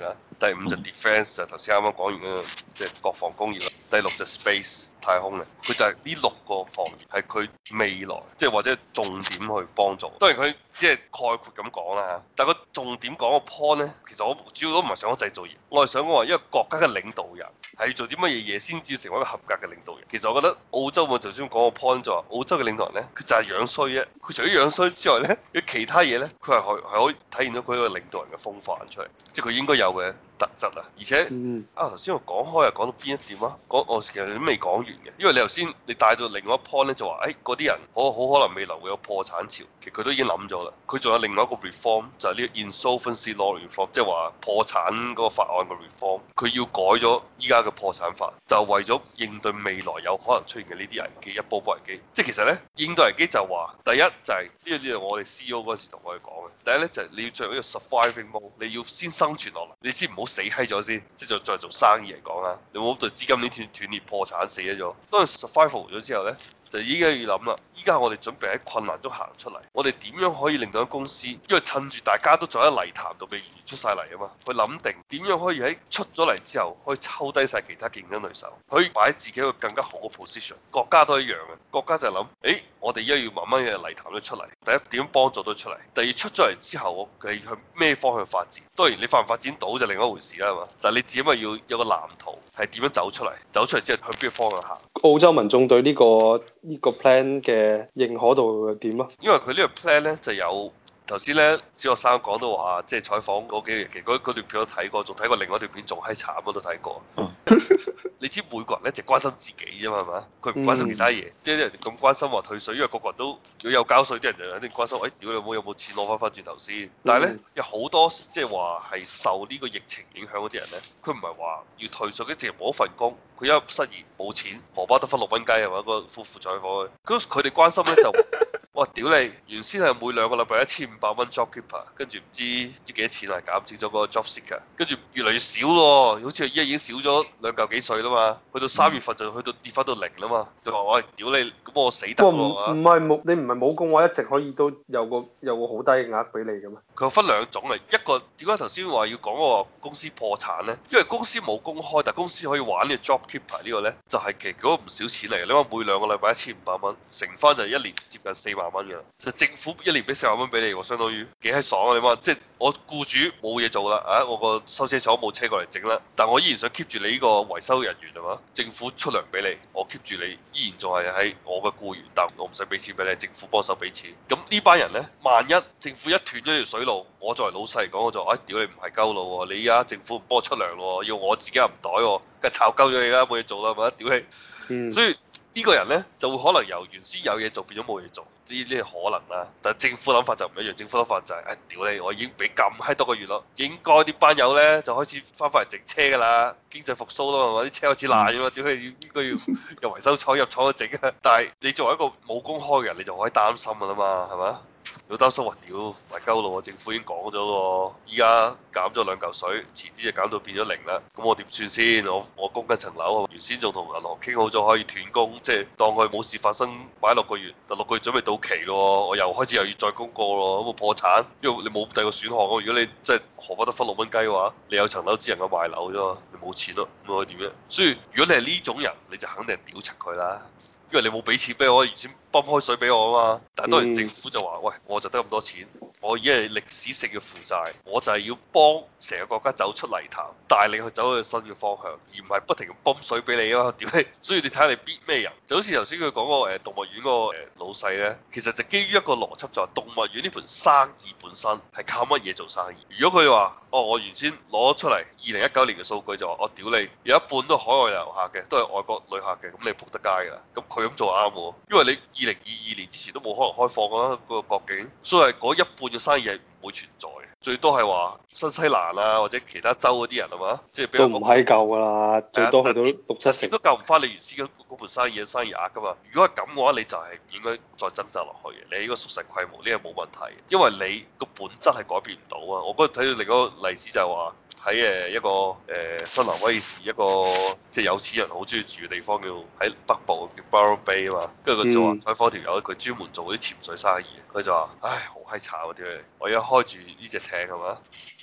第五就 defence 就頭先啱啱講完嗰個即係國防工業啦，第六就 space 太空嘅，佢就係呢6個行業係佢未來即係或者重點去幫助。當然佢只係概括咁講啦，但係個重點講個 point 咧，其實我主要都唔係想講製造業，我係想講話一個國家嘅領導人係要做啲乜嘢嘢先至成為一個合格嘅領導人。其實我覺得澳洲我頭先講個 point 就話澳洲嘅領導人咧，佢就係樣衰啫。佢除咗樣衰之外咧，佢其他嘢咧，佢係可以體現到佢一個領導人嘅風範出嚟，即係佢應該有嘅特質啊。而且頭先我講開又講到邊一點啊？我其實都未講完嘅，因為你頭先你帶到另外一 point 咧，就話嗰啲人好可能未來會有破產潮，其實佢都已經諗咗啦。佢仲有另外一個 reform 就係呢個 insolvency law reform，即係話破產嗰個法案嘅 reform，佢要改咗依家嘅破產法，就為咗應對未來有可能出現嘅呢啲危機，一波波危機。即係其實咧應對危機就話第一就係呢個我哋 CEO 嗰時同我哋講嘅，第一咧就係你要進入一個 surviving mode，你要先生存落嚟，你先唔好死閪咗先，即係再做生意嚟講啦，你唔好對資金鏈斷裂破產死咗。當你 survival 咗之後咧，就依家要諗啦，依家我哋準備喺困難中行出嚟，我哋點樣可以令到間公司，因為趁住大家都仲喺泥潭度未完全出晒嚟啊嘛，去諗定點樣可以喺出咗嚟之後，可以抽低晒其他競爭對手，可以擺喺自己一個更加好嘅 position。國家都一樣嘅，國家就係諗，我哋依家要慢慢嘅泥潭都出嚟，第一點幫助到出嚟，第二出咗嚟之後，我係向咩方向發展？當然你發唔發展到就另一回事啦，係嘛？但係你只係要有個藍圖，係點樣走出嚟？走出嚟之後向邊個方向行？ 澳洲民眾對呢個 plan 嘅認可度點啊？ 因為佢呢個 plan 咧就有頭先咧小學生講到話，即係採訪嗰幾日期嗰段片都睇過，仲睇過另外一段片仲閪慘我都睇過。你知每個人咧就關心自己啫嘛，係嘛？佢唔關心其他嘢。即係啲人咁關心話退稅，因為個個人都如果有交稅，啲人就肯定關心，屌你有冇錢攞翻轉頭先？但係咧有好多即係話係受呢個疫情影響嗰啲人咧，佢唔係話要退稅，佢淨係冇一份工，佢一失業冇錢，荷包得翻6蚊雞係嘛？個夫婦採訪佢，佢哋關心咧就。哇！屌你，原先係每2個禮拜1500蚊 JobKeeper，跟住唔知幾多錢係減少咗嗰個 JobSeeker，跟住越嚟越少咯，好似依家已經少咗2嚿幾稅啦嘛，去到3月份就去到跌翻到0啦嘛。佢話：喂，屌你，咁我死得喎！ 唔係你唔係冇工話一直可以都有個好低嘅額俾你嘅咩？ 佢分2種嚟，一個點解頭先話要講嗰個公司破產咧？因為公司冇公開，但公司可以玩呢個 JobKeeper 呢個咧，就係其實嗰個唔少錢嚟嘅。你話每2個禮拜1500蚊，乘翻就1年接近4萬蚊嘅，就政府1年俾4萬蚊俾你喎，相當於幾閪爽啊！你話即係我僱主冇嘢做啦，我個收車廠冇車過嚟整啦，但我依然想 keep 住你呢個維修人員係嘛？政府出糧俾你，我 keep 住你，依然仲係喺我嘅僱員，但我唔使俾錢俾你，政府幫手俾錢。咁呢班人咧，萬一政府一斷咗條水路，我作為老細嚟講，我就屌你唔係鳩路喎，你而家政府唔幫我出糧喎，要我自己入袋喎，梗係炒鳩咗你啦，冇嘢做啦，係咪？屌你！所以呢個人咧就會可能由原先有嘢做變咗冇嘢做，呢啲可能啦。但係政府諗法就唔一樣，政府諗法就係屌你，我已經俾咁閪多個月咯，應該啲班友咧就開始翻返嚟整車㗎啦，經濟復甦咯係嘛，啲車開始爛㗎嘛，屌你應該要入維修廠入廠去整啊！但係你作為一個冇公開嘅人，你就可以擔心㗎啦嘛，係嘛？好擔心話屌埋鳩路喎，政府已經講咗咯，依家減咗2嚿水，遲啲就減到變咗0啦。咁我點算先？我供緊層樓，原先仲同銀行傾好咗可以斷供，即係當佢冇事發生，擺6個月，但6個月準備到期咯，我又開始又要再供過咯，咁我破產，因為你冇第二個選項咯。如果你即係荷包得分6蚊雞嘅話，你有層樓只能夠賣樓啫嘛，你冇錢咯，咁可以點啫？所以如果你係呢種人，你就肯定係屌柒佢啦。因為你冇俾錢俾我，原先泵開水俾我啊嘛，但係當然政府就話：喂，我就得咁多錢，我已經係歷史性嘅負債，我就係要幫成個國家走出泥潭，帶你去走去新嘅方向，而唔係不停咁泵水俾你啊嘛，屌你！所以你睇下你逼咩人，就好似頭先佢講個動物園個老細咧，其實就基於一個邏輯就係動物園呢盤生意本身係靠乜嘢做生意？如果佢話：我原先攞出嚟2019年嘅數據就話：我屌你，有一半都係海外遊客嘅，都係外國旅客嘅，咁你仆得街㗎啦。咁佢咁做啱喎，因為你2022年之前都冇可能開放啦個國境，所以嗰一半嘅生意係唔會存在嘅，最多係話新西蘭啊或者其他州嗰啲人係嘛，即係比較都唔係夠㗎啦，最多去到6-7成都救唔翻你原先嗰盤生意額㗎嘛。如果係咁嘅話，你就係唔應該再掙扎落去嘅，你應該縮細規模，呢個冇問題，因為你個本質係改變唔到啊。我嗰日睇到另一個例子就係話，喺一個新南威爾士一個即係有錢人好中意住嘅地方，叫喺北部叫 Byron Bay 啊嘛，跟住佢就話採訪條友，佢專門做啲潛水生意，佢就話：唉，好閪慘啊！屌你，我而家開住呢隻艇係嘛，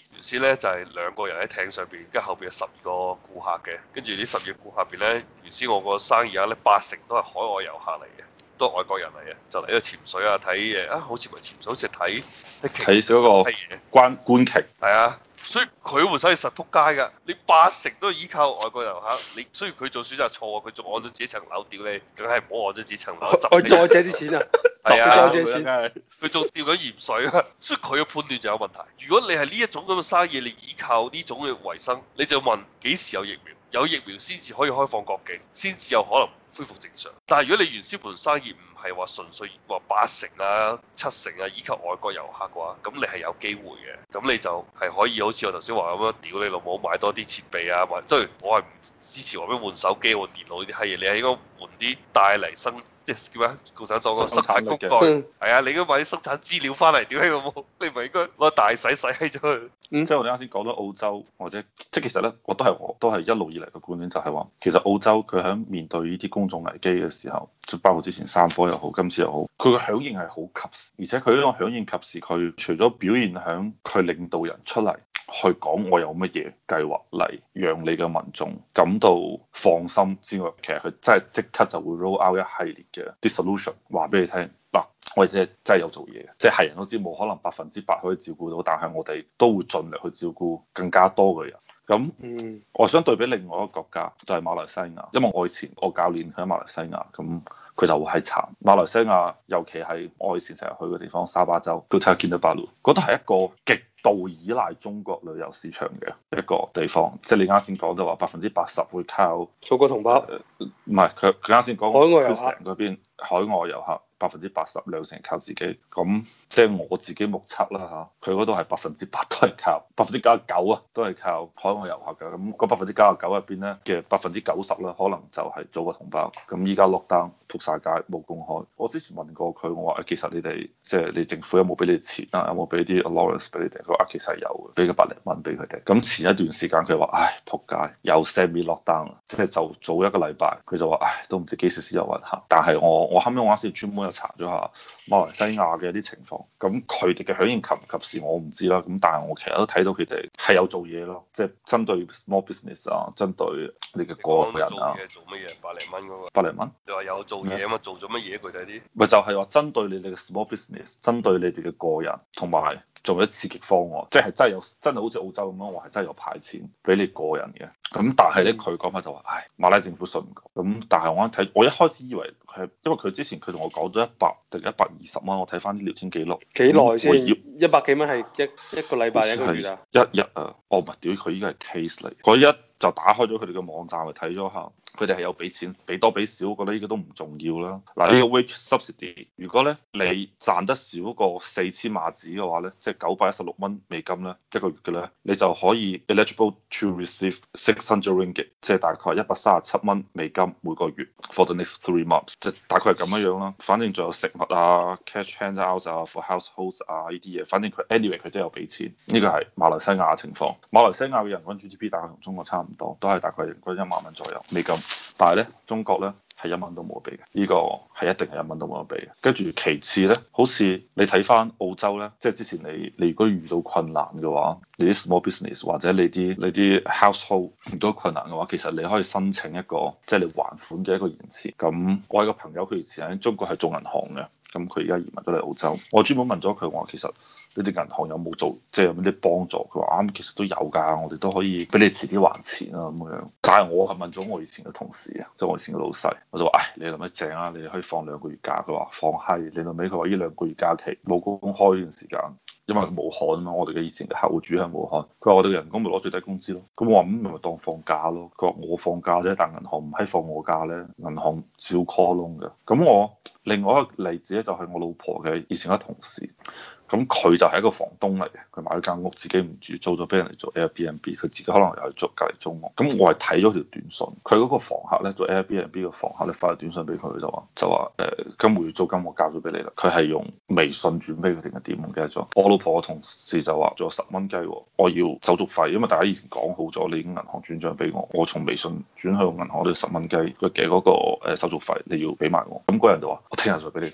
原先咧就係兩個人喺艇上邊，跟住後邊有12個顧客嘅，跟住呢12個顧客入邊咧，原先我個生意額咧80%都係海外遊客嚟嘅，都係外國人嚟嘅，就嚟呢度潛水啊，睇嘢啊，好似唔係潛水，好似睇嗰個觀鯨。 係啊。所以佢換生意實撲街㗎，你80%都係依靠外國遊客，你雖然佢做選擇錯，佢仲按咗自己層樓屌你，梗係唔好按咗自己層樓， 我再借啲錢啊！ 係啊， 再借錢， 佢仲釣緊鹽水啊，所以佢嘅判斷就有問題。如果你係呢一種咁嘅生意，你依靠呢種嘅維生，你就問幾時有疫苗？有疫苗先至可以開放國境，先至有可能恢復正常。但係如果你原先盤生意唔係話純粹話80%啊、70%啊依靠外國遊客嘅話，咁你係有機會嘅。咁你就係可以好似我頭先話咁樣，屌你老母買多啲設備啊，或者我係唔支持話咩換手機、換電腦呢啲閪嘢，你係應該換啲帶嚟生。即係叫咩？共產黨個生產工具係啊！你應該買啲生產資料翻嚟，屌閪老母！你唔係應該攞大洗閪咗佢？ 即係我哋啱先講到澳洲，或者即係其實咧，我都係一路以嚟嘅觀點就係話，其實澳洲佢喺面對呢啲公眾危機嘅時候，就包括之前3科又好，今次又好，佢嘅響應係好及時，而且佢呢個響應及時，佢除咗表現響佢領導人出嚟去講我有乜嘢計劃嚟讓你嘅民眾感到放心之外，其實佢真係即刻就會 roll out 一系列嘅啲 solution 話俾你聽。嗱，我哋真係有做嘢嘅，即係人都知冇可能100%可以照顧到，但係我哋都會盡力去照顧更加多嘅人。咁，我想對比另外一個國家，就係馬來西亞，因為我以前我教練喺馬來西亞，咁佢就會係慘。馬來西亞尤其係我以前成日去嘅地方沙巴州，都睇下見到巴魯，嗰度係一個極度依賴中國旅遊市場嘅一個地方。即係你啱先講就話80%會靠祖國同胞， 唔係佢啱先講海外遊客嗰邊海外遊客。80%兩成靠自己，咁即係我自己目測啦嚇，佢嗰度係100%都係靠99%啊，都係靠海外遊客嘅。咁嗰99%入邊咧嘅90%啦，可能就係祖國同胞。咁依家落單撲晒街冇公開。我之前問過佢，我話其實你哋即係你政府有冇俾你錢啊？有冇俾啲 allowance 俾你哋？佢話其實有嘅，俾個百零蚊俾佢哋。咁前一段時間佢話唉撲街，又 semi 落單啦，即係就早一個禮拜，佢就話唉都唔知幾時先有運行。但係我後尾我啱先專門查咗下馬來西亞嘅一啲情況，咁佢哋嘅響應及唔及時我唔知啦，咁但係我其實都睇到佢哋係有做嘢咯，即係針對 small business 啊，針對你嘅個人啊。 做乜嘢？百零蚊嗰個。 百零蚊？ 你話有做嘢啊嘛？做咗乜嘢？具體啲？ 咪就係話針對你哋嘅 small business，針對你哋嘅個人，同埋做咗刺激方案，即係真係好似澳洲咁樣，我係真係有派錢俾你個人嘅。咁但係咧，佢講法就話，唉，馬拉政府信唔過。咁但係我一睇，我一開始以為佢，因為佢之前佢同我講咗100定120蚊，我睇翻啲聊天記錄。幾耐先？100幾蚊係一個禮拜一個月啊？一日啊！哦，唔係，屌佢依家係 case 嚟。嗰一就打開咗佢哋嘅網站去睇咗下，佢哋係有俾錢，俾多俾少，我覺得呢個都唔重要啦。嗱，呢個 wage subsidy，如果咧你賺得少過4000馬紙嘅話咧，即係916蚊美金咧一個月嘅咧，你就可以 eligible to receive 600 ringgit，即係大概137蚊美金每個月 for the next 3 months，即係大概係咁樣樣啦。反正仲有食物啊、cash handouts 啊、for households 啊呢啲嘢，反正佢 anyway 佢都有俾錢。呢個係馬來西亞嘅情況。馬來西亞嘅人均 GDP 大概同中國差唔多，都係大概人均1萬蚊左右美金。但係咧，中國咧係1蚊都冇得俾嘅，呢個係一定係1蚊都冇得俾嘅。跟住其次咧，好似你睇翻澳洲咧，即係之前你如果遇到困難嘅話，你啲 small business 或者你啲 household 遇到困難嘅話，其實你可以申請一個即係你還款嘅一個延遲。咁我有個朋友佢以前喺中國係做銀行嘅。咁佢而家移民咗嚟澳洲，我專門問咗佢，我話其實你哋銀行有冇做，即係有冇啲幫助？佢話啱，其實都有㗎，我哋都可以俾你遲啲還錢啊咁樣。但係我係問咗我以前嘅同事啊，即係我以前嘅老細，我就話：唉，你諗乜正啊？你可以放2個月假。佢話放閪，你諗尾佢話呢2個月假期冇公開呢段時間。因為武漢啊嘛，我哋嘅以前嘅客戶住喺武漢，佢話我哋嘅人工咪攞最低工資咯。咁我話咁咪當放假咯。佢話我放假啫，但銀行唔係放我假咧，銀行照 call 窿嘅。咁我另外一個例子咧就係我老婆嘅以前一個同事。咁佢就係一個房東嚟嘅，佢買咗間屋自己唔住，租咗俾人嚟做 Airbnb，佢自己可能又係做隔離租屋。咁我係睇咗條短信，佢嗰個房客咧做 Airbnb 嘅房客咧發條短信俾佢，就話今個月租金我交咗俾你啦。佢係用微信轉俾佢定係點唔記得咗。我老婆嘅同事就話仲有10蚊雞，我要手續費，因為大家以前講好咗，你已經銀行轉帳俾我，我從微信轉去銀行都要10蚊雞嘅嗰個手續費你要俾埋我。咁嗰人就話我聽日再俾你得唔得？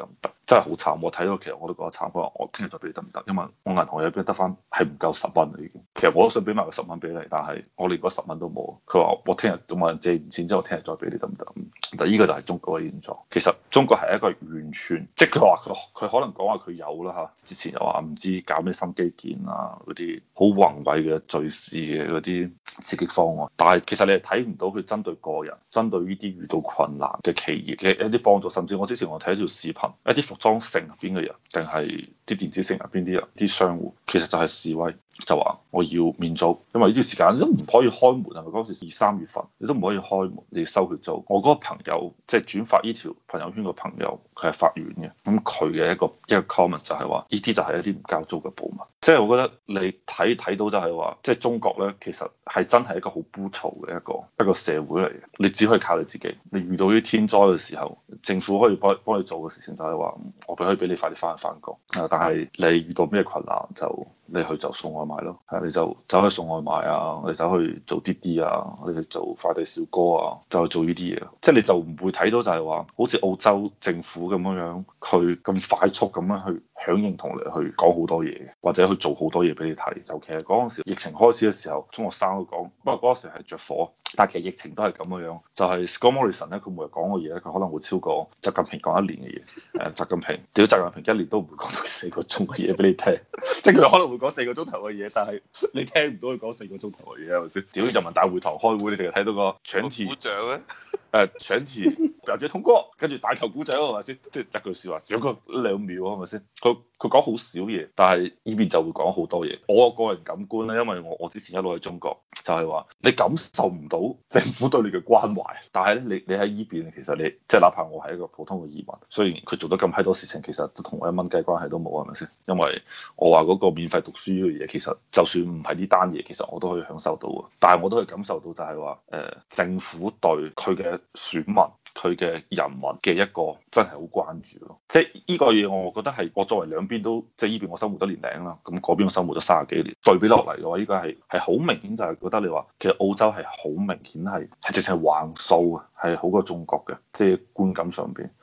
真係好慘。我睇到其實我都覺得慘。佢話我聽日再俾你得唔得？因為我銀行入邊得翻係唔夠10蚊啦已經。其實我都想俾埋個10蚊俾你，但係我連嗰10蚊都冇。佢話我聽日仲問人借完錢之後，聽日再俾你得唔得？但依個就係中國嘅現狀。其實中國係一個完全，即係佢話佢可能講話佢有啦嚇。之前又話唔知搞咩新基建啊，嗰啲好宏偉嘅敘事嘅嗰啲刺激方案，但係其實你係睇唔到佢針對個人、針對呢啲遇到困難嘅企業嘅一啲幫助。甚至我之前我睇一條視頻，一啲服裝城入邊嘅人，定係啲電子城入邊啲人、啲商戶，其實就係示威，就話我要免租，因為呢段時間都唔可以開門，係咪嗰時2、3月份你都唔可以開門，你要收佢租。我嗰個朋友即係轉發呢條朋友圈嘅朋友，佢係法院嘅，咁佢嘅一個 comment 就係話，呢啲就係一啲唔交租嘅暴民。即係我覺得你睇到就係話，即係中國咧，其實係真係一個好枯燥嘅一個社會嚟嘅。你只可以靠你自己。你遇到啲天災嘅時候，政府可以幫你做嘅事情就係話，我可以俾你快啲翻工。但係你遇到咩困難就你去就送外賣咯，係你就走去送外賣啊，你走去做滴滴啊，你去做快遞小哥啊，就去做呢啲嘢。即係你就唔會睇到就係話，好似澳洲政府咁樣，佢咁快速咁樣去響應同你去講好多嘢，或者去做好多嘢俾你睇。尤其係嗰陣時疫情開始嘅時候，中學生都講，不過嗰陣時係着火，但係其實疫情都係咁樣。就係 Scott Morrison 咧，佢每日講嘅嘢咧，佢可能會超過習近平講1年嘅嘢。習近平屌習近平1年都唔會講到4個鐘嘅嘢俾你聽，即係佢可能會講4個鐘頭嘅嘢，但係你聽唔到佢講4個鐘頭嘅嘢係咪先？屌人民大會堂開會，你淨係睇到個搶題鼓掌咧， 搶題表決通過，跟住大頭鼓掌係咪先？即係一句説話，少個2秒係咪先？佢講好少嘢，但係呢邊就會講好多嘢。我個人感官咧，因為我之前一路喺中國，就係話你感受唔到政府對你嘅關懷，但係咧你喺依邊，其實你即係哪怕我係一個普通嘅移民，雖然佢做得咁閪多事情，其實都同我1蚊雞關係都冇係咪先？因為我話嗰個免費讀書呢個嘢，其實就算唔係呢單嘢，其實我都可以享受到啊。但係我都可以感受到就係話，政府對佢嘅選民、佢嘅人民嘅一個真係好關注咯。即係呢個嘢，我覺得係我作為兩邊都，即係呢邊我生活咗年零啦，咁嗰邊我生活咗30幾年，對比落嚟嘅話，呢個係好明顯，就係覺得你話其實澳洲係好明顯係直情橫掃啊，係好過中國嘅，即係觀感上邊。